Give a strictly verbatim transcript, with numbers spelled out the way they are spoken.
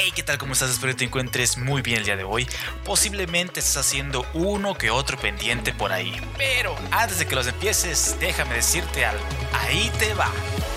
Hey, ¿qué tal? ¿Cómo estás? Espero que te encuentres muy bien el día de hoy. Posiblemente estés haciendo uno que otro pendiente por ahí. Pero antes de que los empieces, déjame decirte algo. Ahí te va.